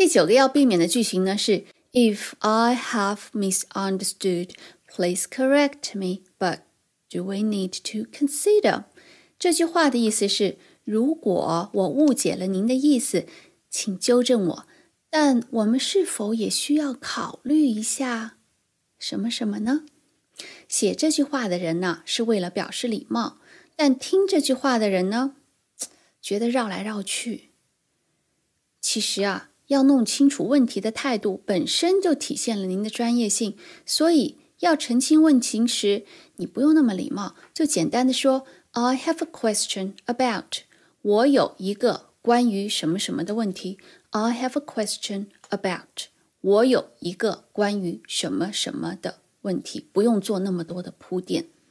第9个要避免的句型呢是 If I have misunderstood, please correct me, but do we need to consider? 这句话的意思是，如果我误解了您的意思，请纠正我，但我们是否也需要考虑一下什么什么呢？写这句话的人呢，是为了表示礼貌，但听这句话的人呢，觉得绕来绕去。其实要弄清楚问题的态度本身就体现了您的专业性，所以要澄清问题时，你不用那么礼貌，就简单的说 I have a question about， 我有一个关于什么什么的问题。 I have a question about， 我有一个关于什么什么的问题，不用做那么多的铺垫。